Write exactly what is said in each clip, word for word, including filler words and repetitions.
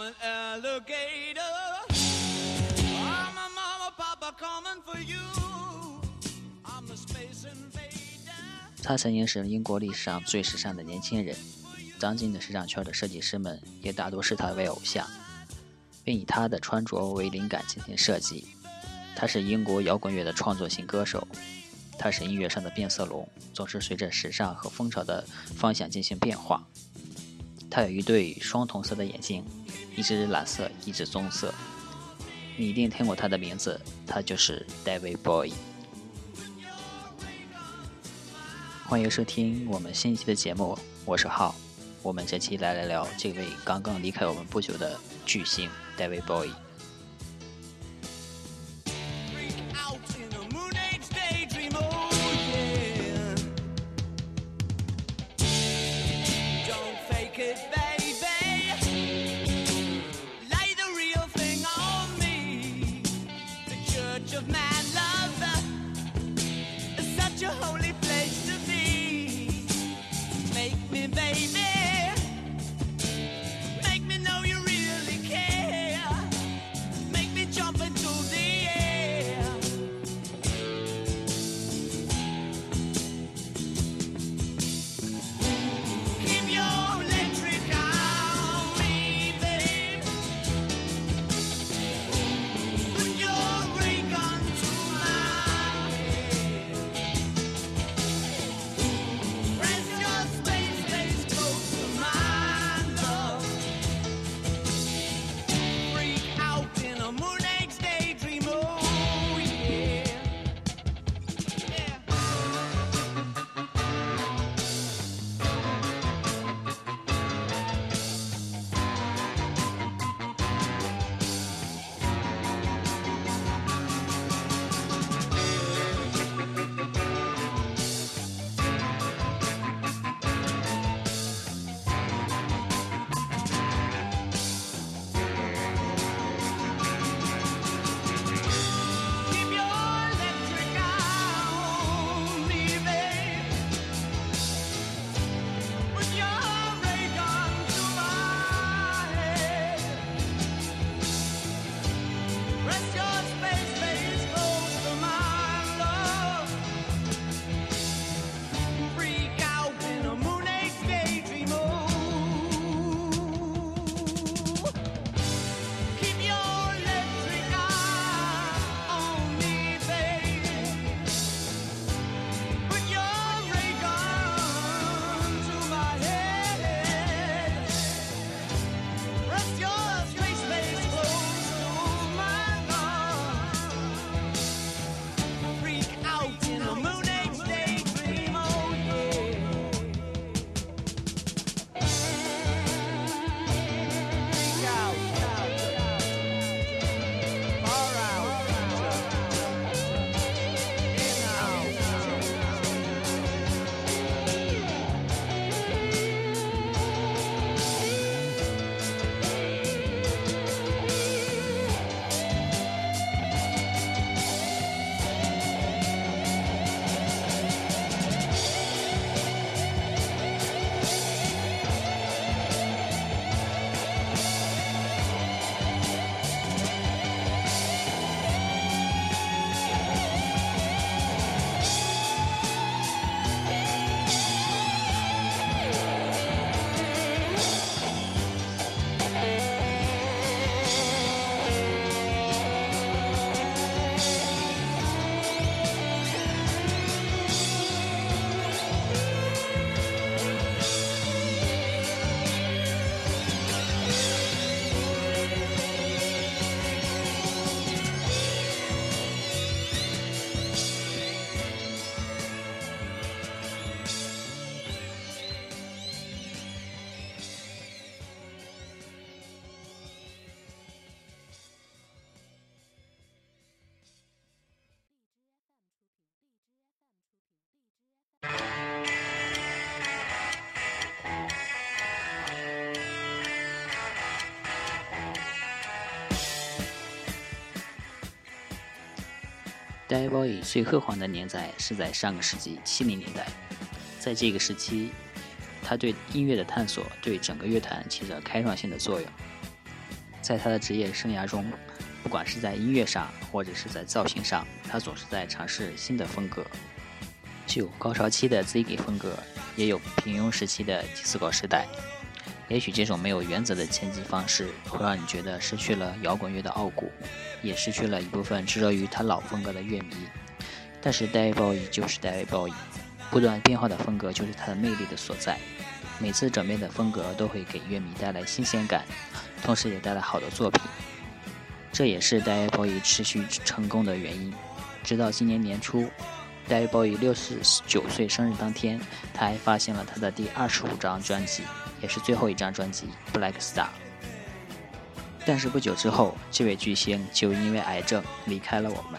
an alligator. I'm a mama, papa coming for you. I'm the space invader. 他曾经是英国历史上最时尚的年轻人，当今的时尚圈的设计师们也大多视他为偶像，并以他的穿着为灵感进行设计。他是英国摇滚乐的创作型歌手，他是音乐上的变色龙，总是随着时尚和风潮的方向进行变化。他有一对双瞳色的眼睛，一只蓝色，一只棕色。你一定听过他的名字，他就是 David Bowie。欢迎收听我们新一期的节目，我是浩。我们这期来聊聊这位刚刚离开我们不久的巨星 David Bowie。David Bowie 最辉煌的年代是在上个世纪七零年代，在这个时期，他对音乐的探索对整个乐坛起着开创性的作用。 在他的职业生涯中，不管是在音乐上或者是在造型上，他总是在尝试新的风格。既有高潮期的 Ziggy 风格，也有平庸时期的 disco 时代。也许这种没有原则的前进方式会让你觉得失去了摇滚乐的傲骨，也失去了一部分执着于他老风格的乐迷。但是 David Bowie 就是 David Bowie， 不断变化的风格就是他的魅力的所在。每次转变的风格都会给乐迷带来新鲜感，同时也带来好的作品。这也是 David Bowie 持续成功的原因。直到今年年初，David Bowie 六十九岁生日当天，他还发行了他的第二十五张专辑，也是最后一张专辑《Black Star》。但是不久之后，这位巨星就因为癌症离开了我们。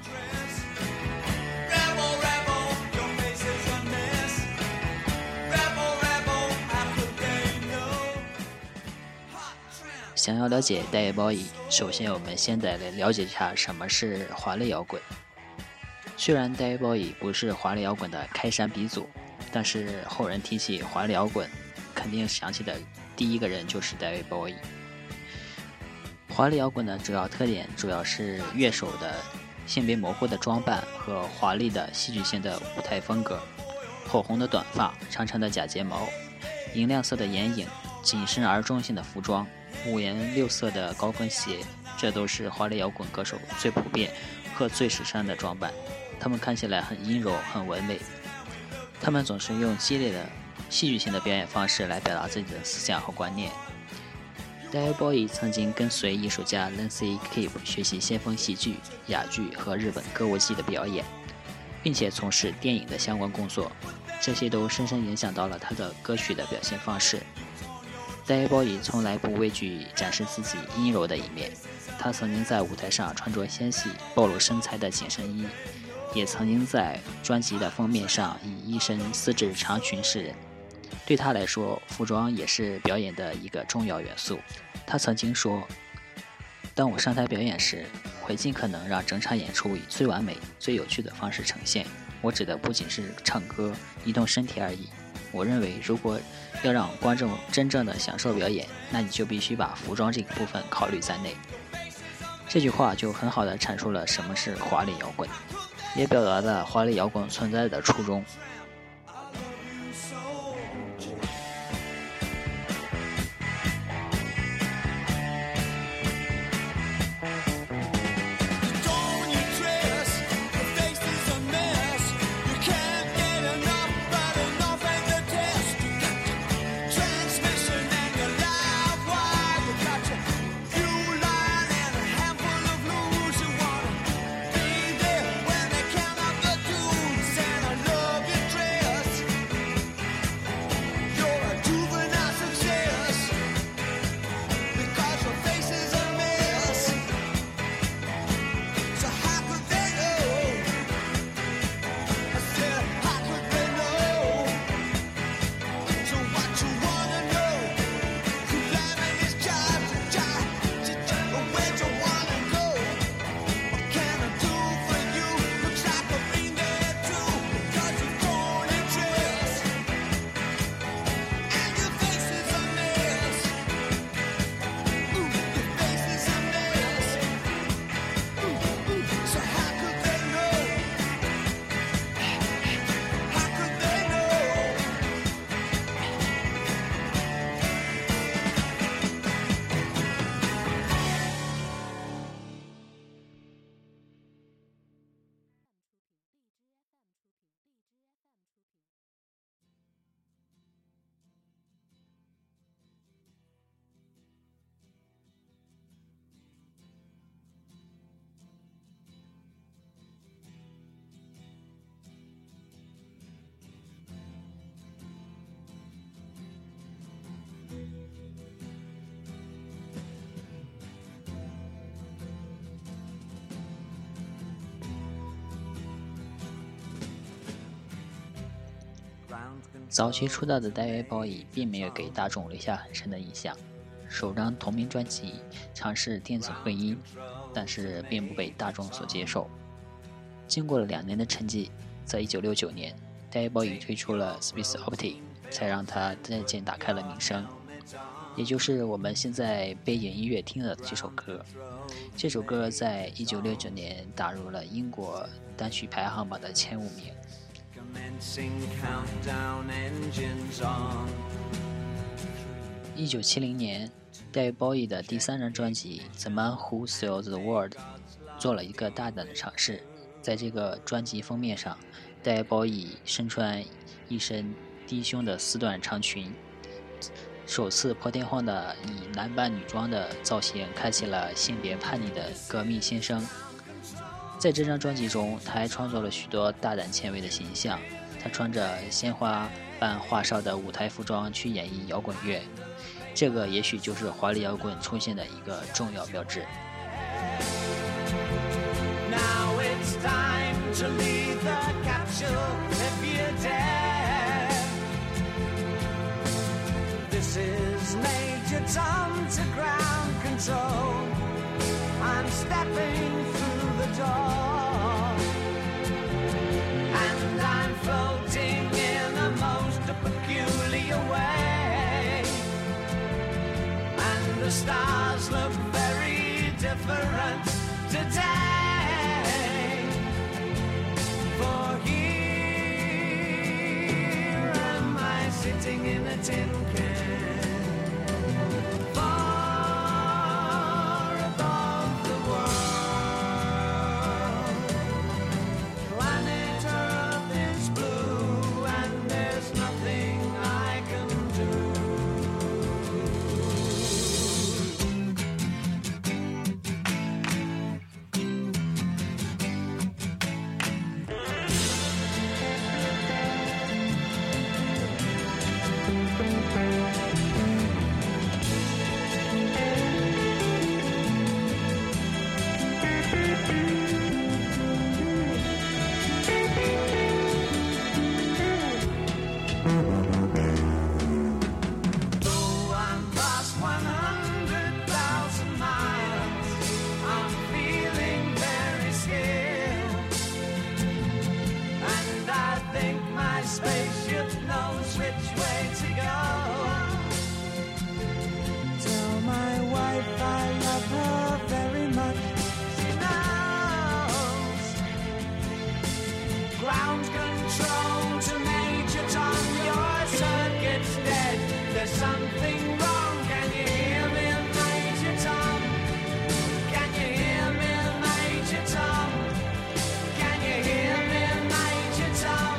想要了解 David Bowie， 首先我们先得来了解一下什么是华丽摇滚。虽然 David Bowie 不是华丽摇滚的开山鼻祖，但是后人提起华丽摇滚，肯定想起的第一个人就是 David Bowie。华丽摇滚的主要特点主要是乐手的性别模糊的装扮和华丽的戏剧性的舞台风格，火红的短发，长长的假睫毛，银亮色的眼影，紧身而中性的服装，五颜六色的高跟鞋，这都是华丽摇滚歌手最普遍和最时尚的装扮。他们看起来很阴柔，很唯美。他们总是用激烈的戏剧性的表演方式来表达自己的思想和观念。David Bowie 曾经跟随艺术家 Lindsay Keep 学习先锋戏剧、哑剧和日本歌舞伎的表演，并且从事电影的相关工作，这些都深深影响到了他的歌曲的表现方式。David Bowie 从来不畏惧展示自己阴柔的一面，他曾经在舞台上穿着纤细、暴露身材的紧身衣，也曾经在专辑的封面上以一身丝质长裙示人。对他来说，服装也是表演的一个重要元素。他曾经说，当我上台表演时，会尽可能让整场演出以最完美、最有趣的方式呈现。我指的不仅是唱歌、移动身体而已。我认为，如果要让观众真正的享受表演，那你就必须把服装这个部分考虑在内。这句话就很好地阐述了什么是华丽摇滚，也表达了华丽摇滚存在的初衷。早期出道的 David Bowie 并没有给大众留下很深的印象。首张同名专辑尝试电子混音，但是并不被大众所接受。经过了两年的沉寂，在一九六九年 David Bowie 推出了 Space Oddity， 才让他渐渐打开了名声。 也就是我们现在背景音乐听的这首歌。这首歌在一九六九年打入了英国单曲排行榜的前五名。一九七零年，戴维·鲍伊的第三张专辑《The Man Who Sold the World》做了一个大胆的尝试。在这个专辑封面上，戴维·鲍伊身穿一身低胸的丝缎长裙，首次破天荒的以男扮女装的造型开启了性别叛逆的革命新生。在这张专辑中，他还创作了许多大胆前卫的形象。他穿着鲜花般花哨的舞台服装去演绎摇滚乐，这个也许就是华丽摇滚出现的一个重要标志。 Now it's time to leave the capsule if you dare. This is Major Tom to ground control. I'm stepping through the door, and I'm floating in a most peculiar way, and the stars look very different today, for here am I sitting in a tin can, far above the world. Planet Earth is blue and there's nothing I can do. Spaceship knows which way to go. Tell my wife I love her very much. She knows. Ground control to Major Tom. Your circuit's dead. There's something wrong. Can you hear me, Major Tom? Can you hear me, Major Tom? Can you hear me, Major Tom?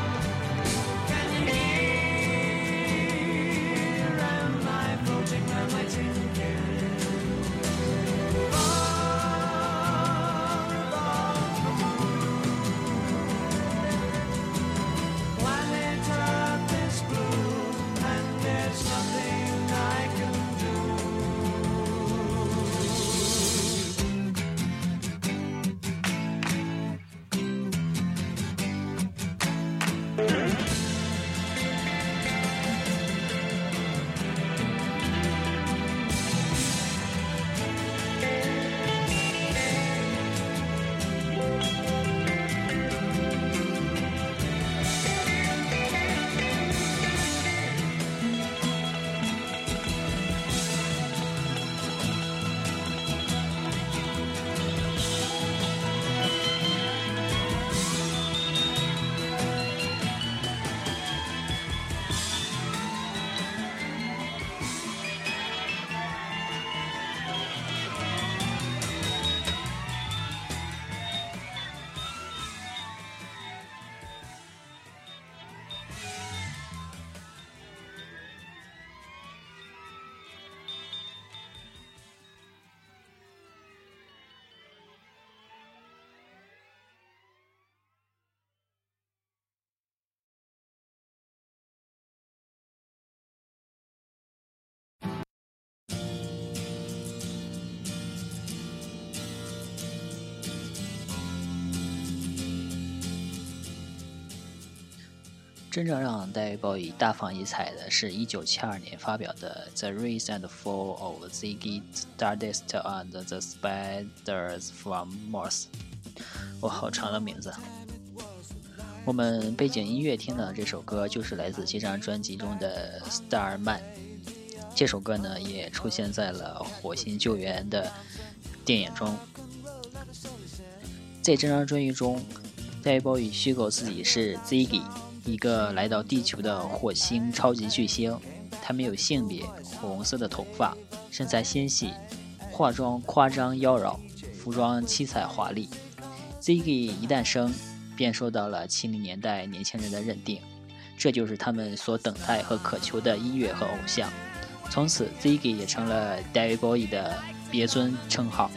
真正让戴维·鲍伊大放异彩的是一九七二年发表的《The Rise and Fall of Ziggy Stardust and the Spiders from Mars》。哇，好长的名字。我们背景音乐听的这首歌就是来自这张专辑中的《Starman》。 这首歌呢也出现在了《火星救援》的电影中。在这张专辑中，戴维鲍伊虚构自己是 Ziggy， 一个来到地球的火星超级巨星。他没有性别，火红色的头发，身材纤细，化妆夸张妖娆，服装七彩华丽。Ziggy 一诞生便受到了七零年代年轻人的认定，这就是他们所等待和渴求的音乐和偶像。从此 Ziggy 也成了 David Bowie 的别尊称号。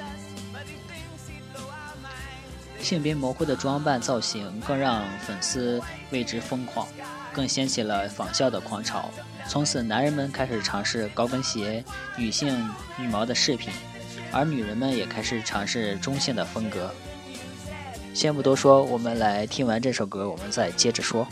性别模糊的装扮造型更让粉丝为之疯狂，更掀起了仿效的狂潮。从此男人们开始尝试高跟鞋、女性羽毛的饰品，而女人们也开始尝试中性的风格。先不多说，我们来听完这首歌，我们再接着说。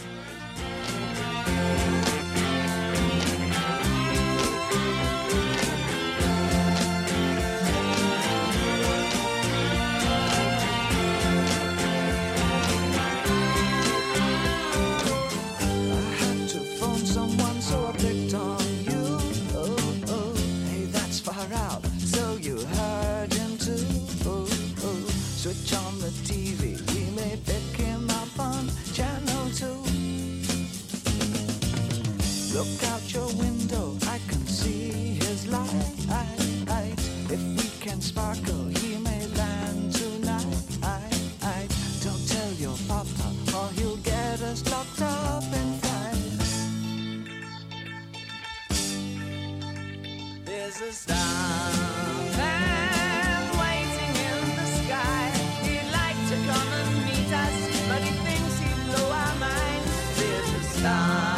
Look out your window, I can see his light. If we can sparkle, he may land tonight. Don't tell your papa, or he'll get us locked up inside. There's a starman waiting in the sky. He'd like to come and meet us, but he thinks he'd blow our minds. There's a star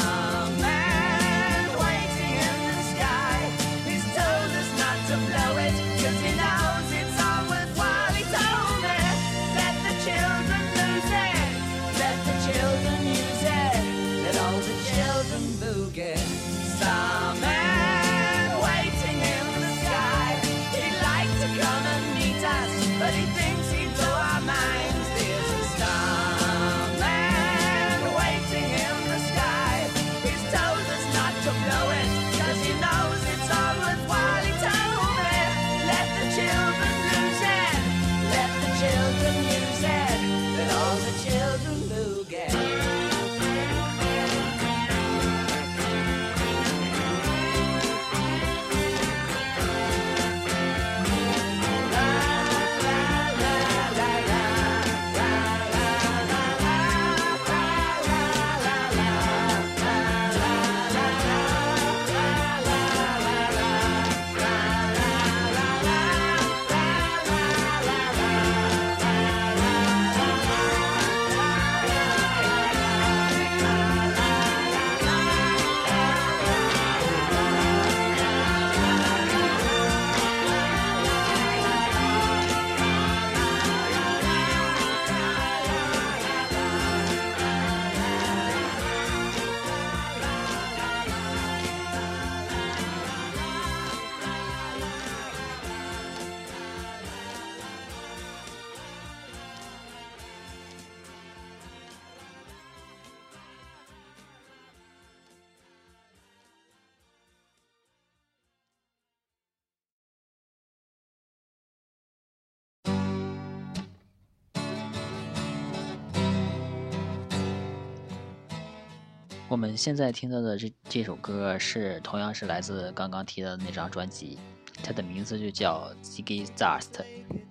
我们现在听到的这这首歌是同样是来自刚刚提到的那张专辑，它的名字就叫 Ziggy Stardust。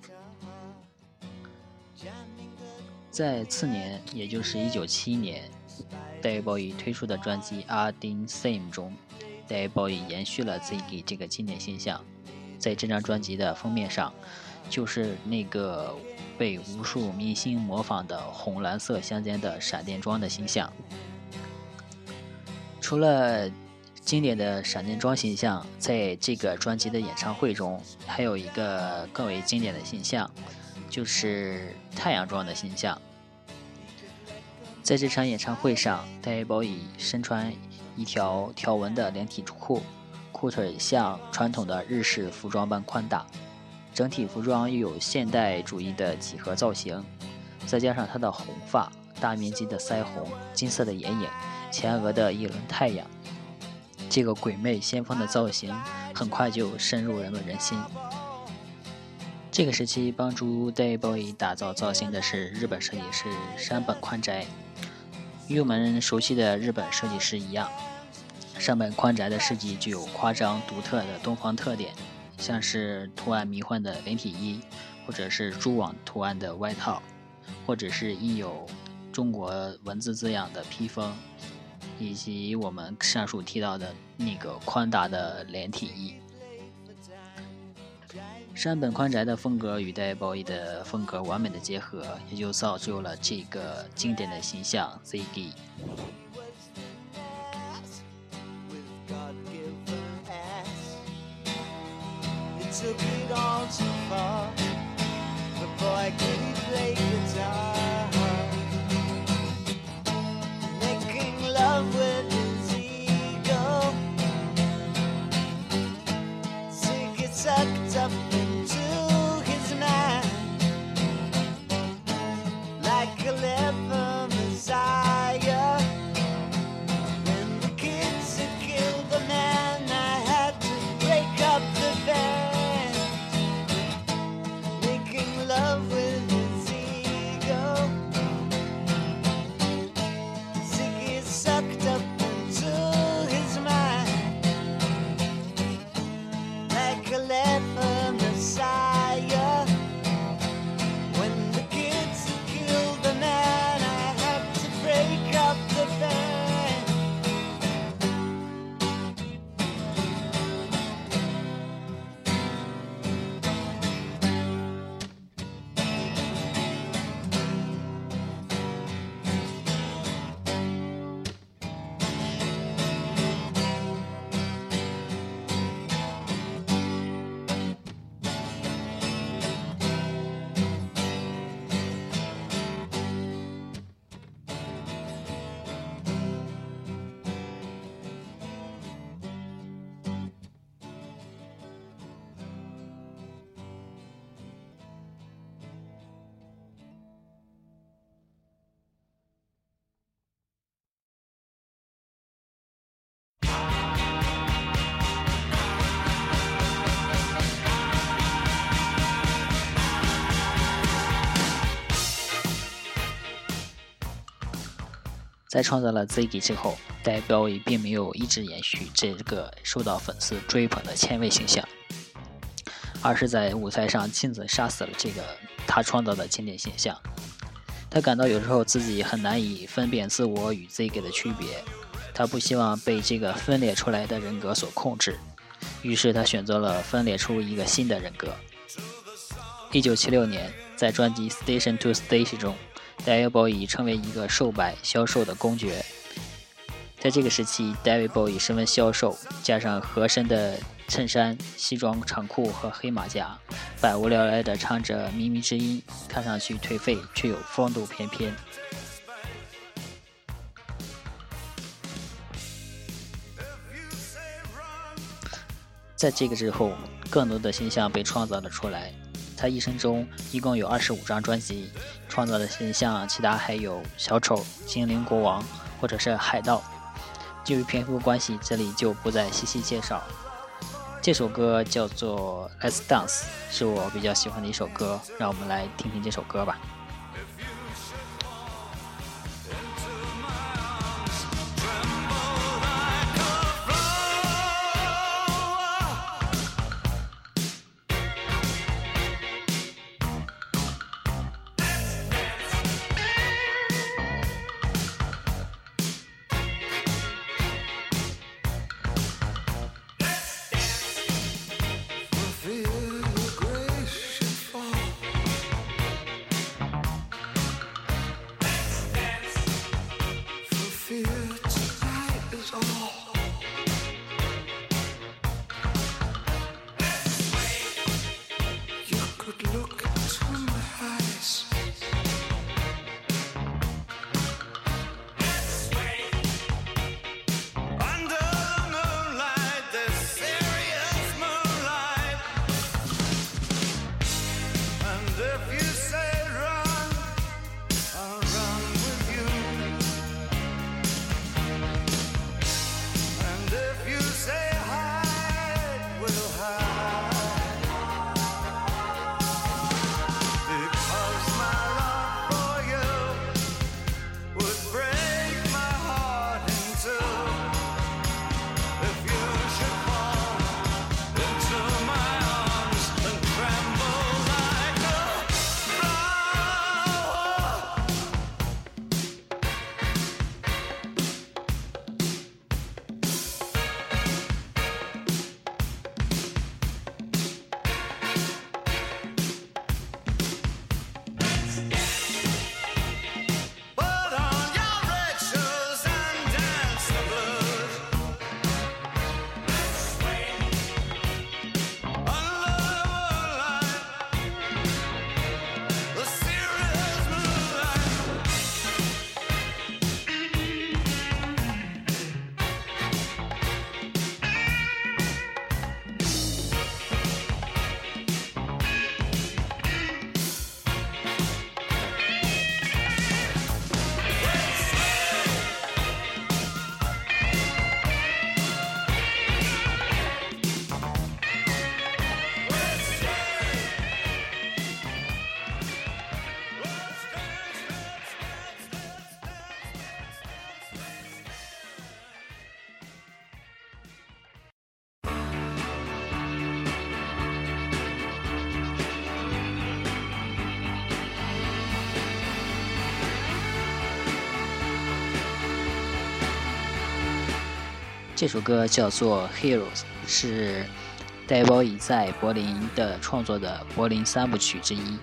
在次年，也就是一九七一年，戴维鲍伊推出的专辑《Arding Theme》中，戴维鲍伊延续了 Ziggy 这个经典形象。在这张专辑的封面上，就是那个被无数明星模仿的红蓝色相间的闪电装的形象。除了经典的闪电装形象，在这个专辑的演唱会中，还有一个更为经典的形象，就是太阳装的形象。在这场演唱会上，戴维鲍伊身穿一条条纹的连体裤，裤腿像传统的日式服装般宽大，整体服装又有现代主义的几何造型，再加上他的红发、大面积的腮红、金色的眼影、前额的一轮太阳， 这个鬼魅先锋的造型很快就深入人们人心。这个时期帮助 David Bowie 打造造型的是日本设计师山本宽宅。与我们熟悉的日本设计师一样，山本宽宅的设计具有夸张独特的东方特点，像是图案迷幻的连体衣，或者是蛛网图案的外套，或者是印有中国文字字样的披风，以及我们上述提到的那个宽大的连体衣。山本宽宅的风格与David Bowie的风格完美的结合，也就造就了这个经典的形象 Ziggy。在创造了 Ziggy 之后，David Bowie并没有一直延续这个受到粉丝追捧的前卫形象，而是在舞台上亲自杀死了这个他创造的经典形象。他感到有时候自己很难以分辨自我与 Ziggy 的区别，他不希望被这个分裂出来的人格所控制，于是他选择了分裂出一个新的人格。一九七六年，在专辑 Station to Station 中，David Bowie 成为一个瘦白消瘦的公爵。在这个时期 David Bowie 十分消瘦，加上合身的衬衫、西装长裤和黑马甲，百无聊赖地唱着靡靡之音，看上去颓废却有风度翩翩。在这个之后，更多的形象被创造了出来。他一生中一共有二十五张专辑，创造的形象其他还有小丑、精灵国王或者是海盗。由于篇幅关系，这里就不再细细介绍。这首歌叫做 Let's Dance， 是我比较喜欢的一首歌，让我们来听听这首歌吧。 这首歌叫做 Heroes， 是戴包伊在柏林的创作的柏林三部曲之一。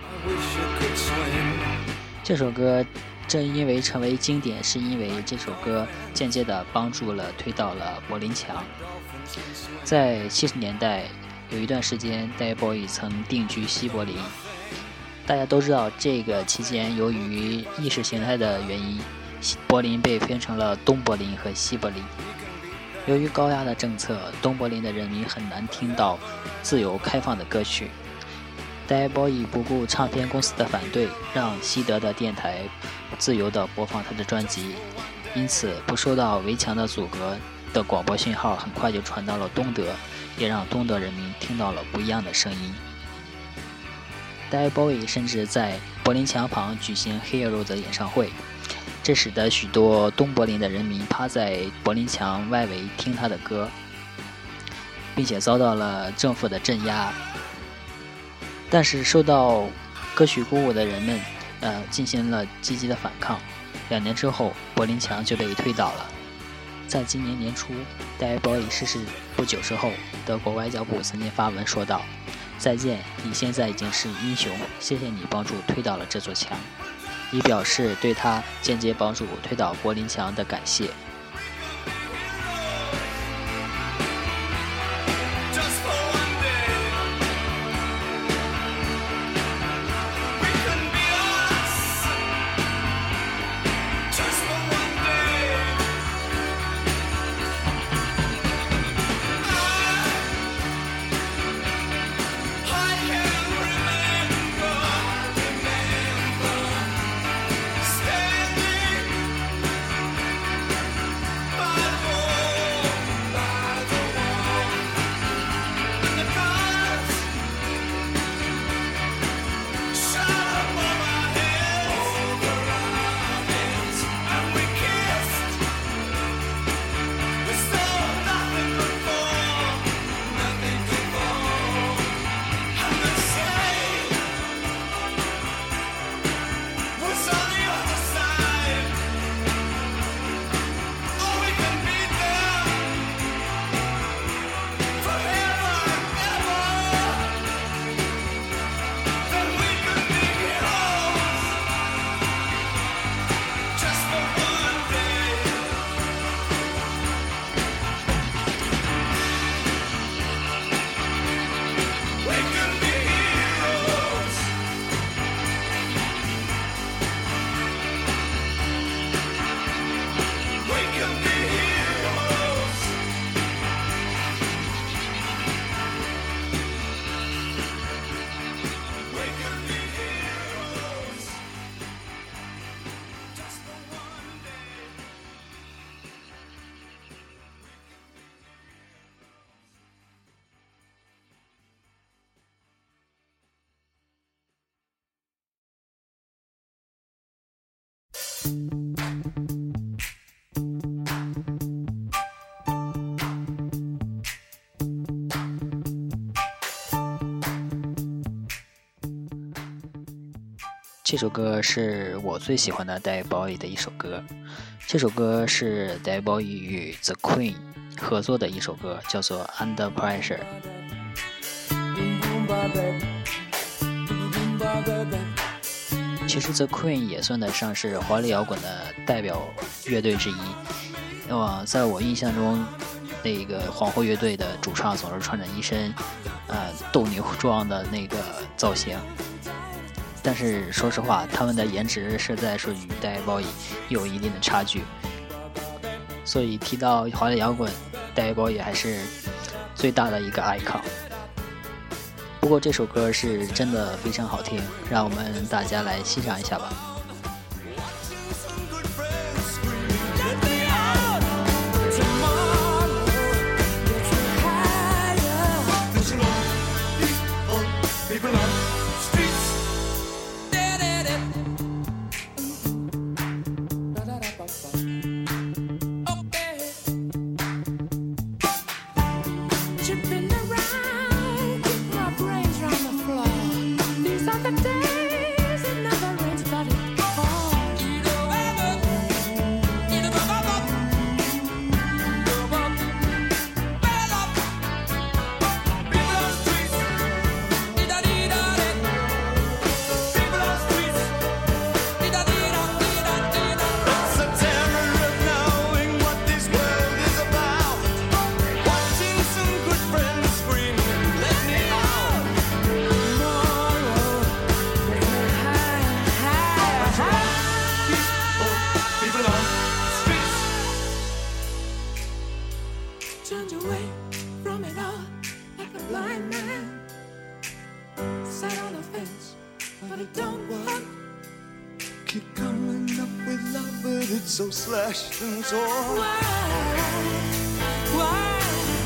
这首歌正因为成为经典，是因为这首歌间接地帮助了推倒了柏林墙。在七十年代有一段时间，戴包伊曾定居西柏林。大家都知道，这个期间由于意识形态的原因，柏林被分成了东柏林和西柏林。由于高压的政策，东柏林的人民很难听到自由开放的歌曲。戴包伊不顾唱片公司的反对，让西德的电台自由地播放他的专辑，因此不受到围墙的阻隔的广播讯号很快就传到了东德，也让东德人民听到了不一样的声音。戴包伊甚至在柏林墙旁举行 Hero 的演唱会，这使得许多东柏林的人民趴在柏林墙外围听他的歌，并且遭到了政府的镇压。但是受到歌曲鼓舞的人们呃，进行了积极的反抗。两年之后，柏林墙就被推倒了。在今年年初，戴包伊逝世不久之后，德国外交部曾经发文说道：再见，你现在已经是英雄，谢谢你帮助推倒了这座墙，以表示对他间接帮助推倒柏林墙的感谢。这首歌是我最喜欢的戴包伊的一首歌，这首歌是戴包伊与 The Queen 合作的一首歌，叫做 Under Pressure。 其实 The Queen 也算得上是华丽摇滚的代表乐队之一。那么在我印象中，那个皇后乐队的主唱总是穿着一身呃斗牛装的那个造型，但是说实话，他们的颜值实在是与戴包伊有一定的差距。所以提到华丽摇滚，戴包伊还是最大的一个 icon。不过这首歌是真的非常好听，让我们大家来欣赏一下吧。 Days it never rains, but it don't want. Keep coming up with love, but it's so slashed and torn. Why? Why?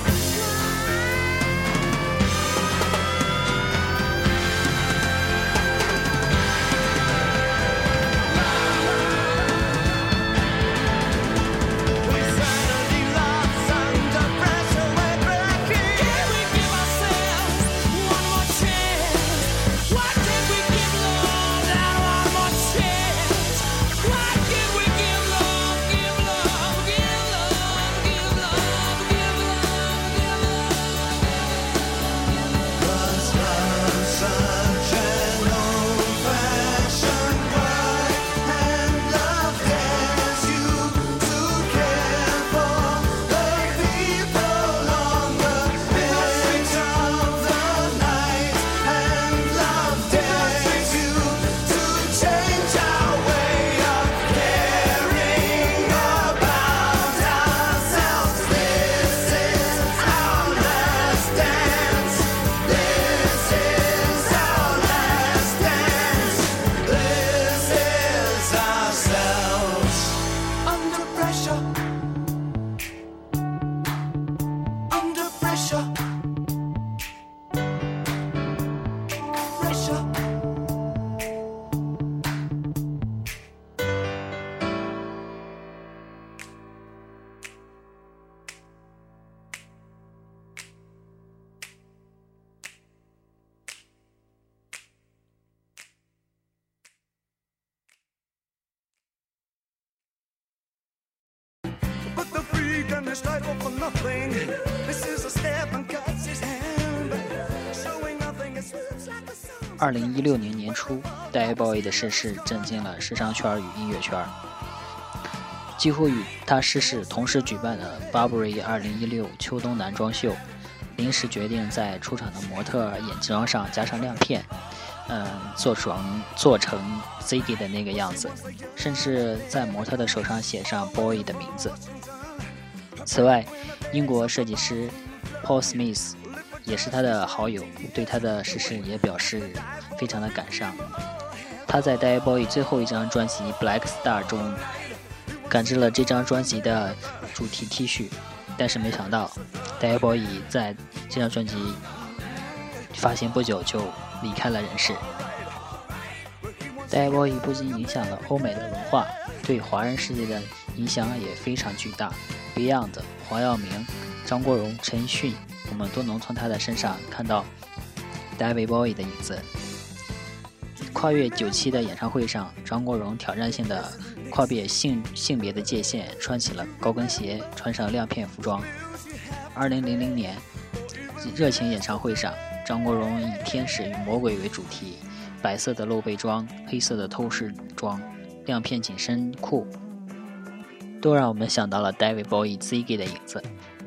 This title for nothing. This is a step and cuts his hand, showing nothing. It slips like a song. 二零一六年年初，戴维·鲍伊的逝世震惊了时尚圈与音乐圈。几乎与他逝世同时举办的 Burberry 二零一六秋冬男装秀，临时决定在出场的模特眼妆上加上亮片，嗯，做成做成 Ziggy 的那个样子，甚至在模特的手上写上 Boy 的名字。此外，英国设计师 Paul Smith 也是他的好友，对他的逝世也表示非常的感伤。他在戴维·鲍伊最后一张专辑《Black Star》中感知了这张专辑的主题 T 恤，但是没想到戴维·鲍伊在这张专辑发行不久就离开了人世。戴维·鲍伊不仅影响了欧美的文化，对华人世界的影响也非常巨大。Beyond、黄耀明、张国荣、陈奕迅，我们都能从他的身上看到戴维·鲍伊的影子。跨越九七的演唱会上，张国荣挑战性的跨越性性别的界限，穿起了高跟鞋，穿上亮片服装。二零零零年热情演唱会上，张国荣以天使与魔鬼为主题，白色的露背装，黑色的透视装，亮片紧身裤，都让我们想到了 David Bowie、Ziggy 的影子。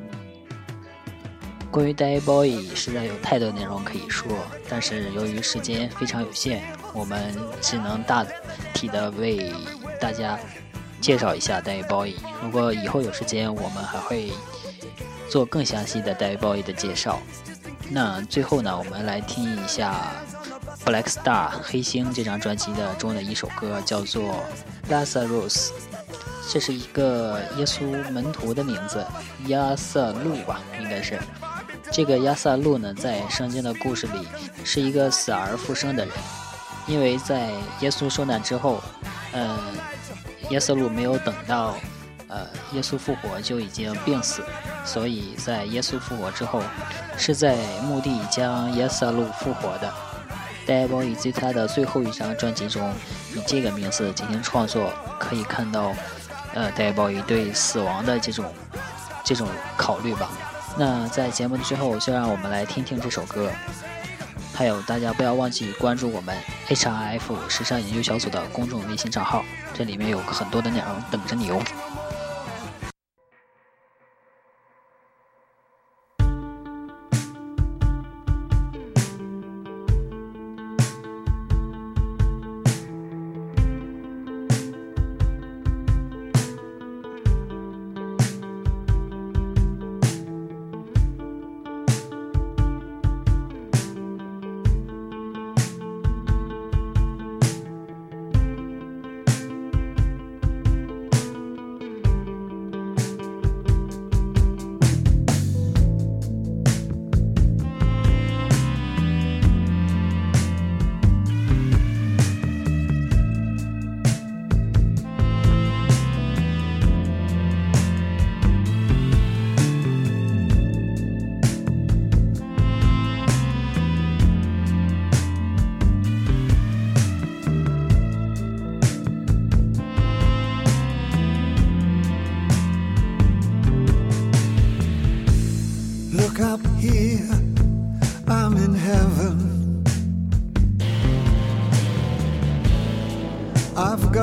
关于 David Bowie 实在有太多内容可以说，但是由于时间非常有限，我们只能大体的为大家介绍一下 David Bowie。如果以后有时间，我们还会做更详细的 David Bowie 的介绍。那最后呢，我们来听一下 Black Star 黑星这张专辑的中的一首歌，叫做 Lazarus。这是一个耶稣门徒的名字，亚瑟路吧，应该是。这个亚瑟路呢，在圣经的故事里是一个死而复生的人，因为在耶稣受难之后，呃，亚瑟路没有等到呃耶稣复活就已经病死，所以在耶稣复活之后，是在墓地将亚瑟路复活的。戴维·鲍伊在他的最后一张专辑中以这个名字进行创作，可以看到呃，戴维·鲍伊对死亡的这种这种考虑吧。那在节目的最后，就让我们来听听这首歌。还有，大家不要忘记关注我们 H R F 时尚研究小组的公众微信账号，这里面有很多的内容等着你哦。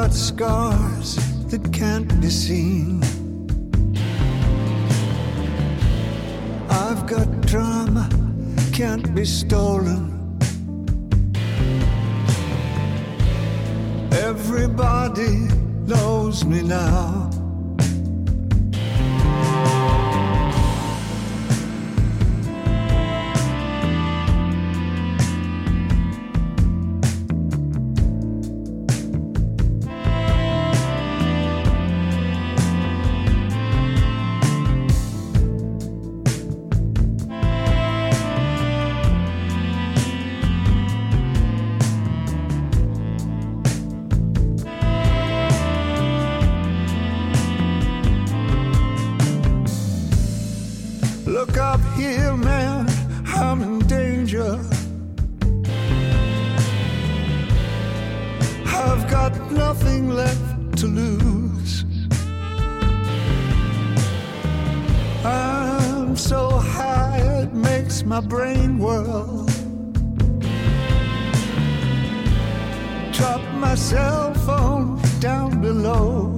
got scars that can't be seen. I've got drama, can't be stolen. Everybody knows me now. Look up here, man, I'm in danger. I've got nothing left to lose. I'm so high it makes my brain whirl. Drop my cell phone down below.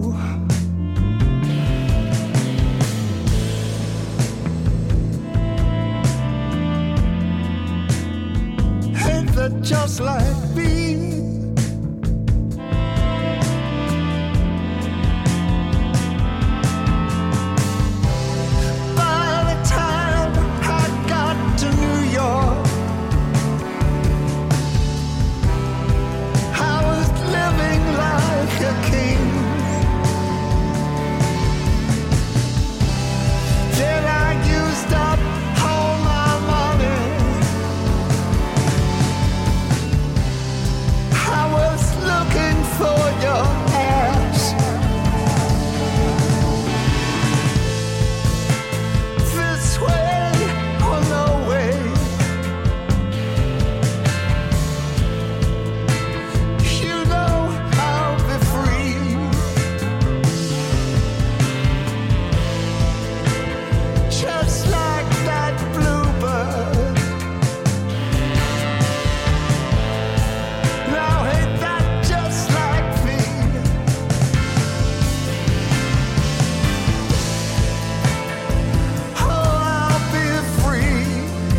Just like me. By the time I got to New York, I was living like a king. Then I used up all my money. I was looking for your ass. This way or no way. You know I'll be free. Just like that bluebird. Now ain't that just like me? Oh, I'll be free.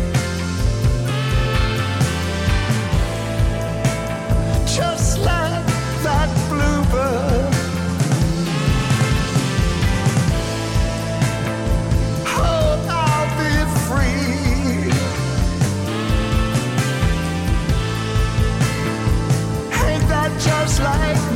Just like that bluebird. Oh, I'll be free. Ain't that just like